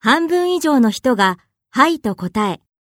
半分以上の人がはいと答え、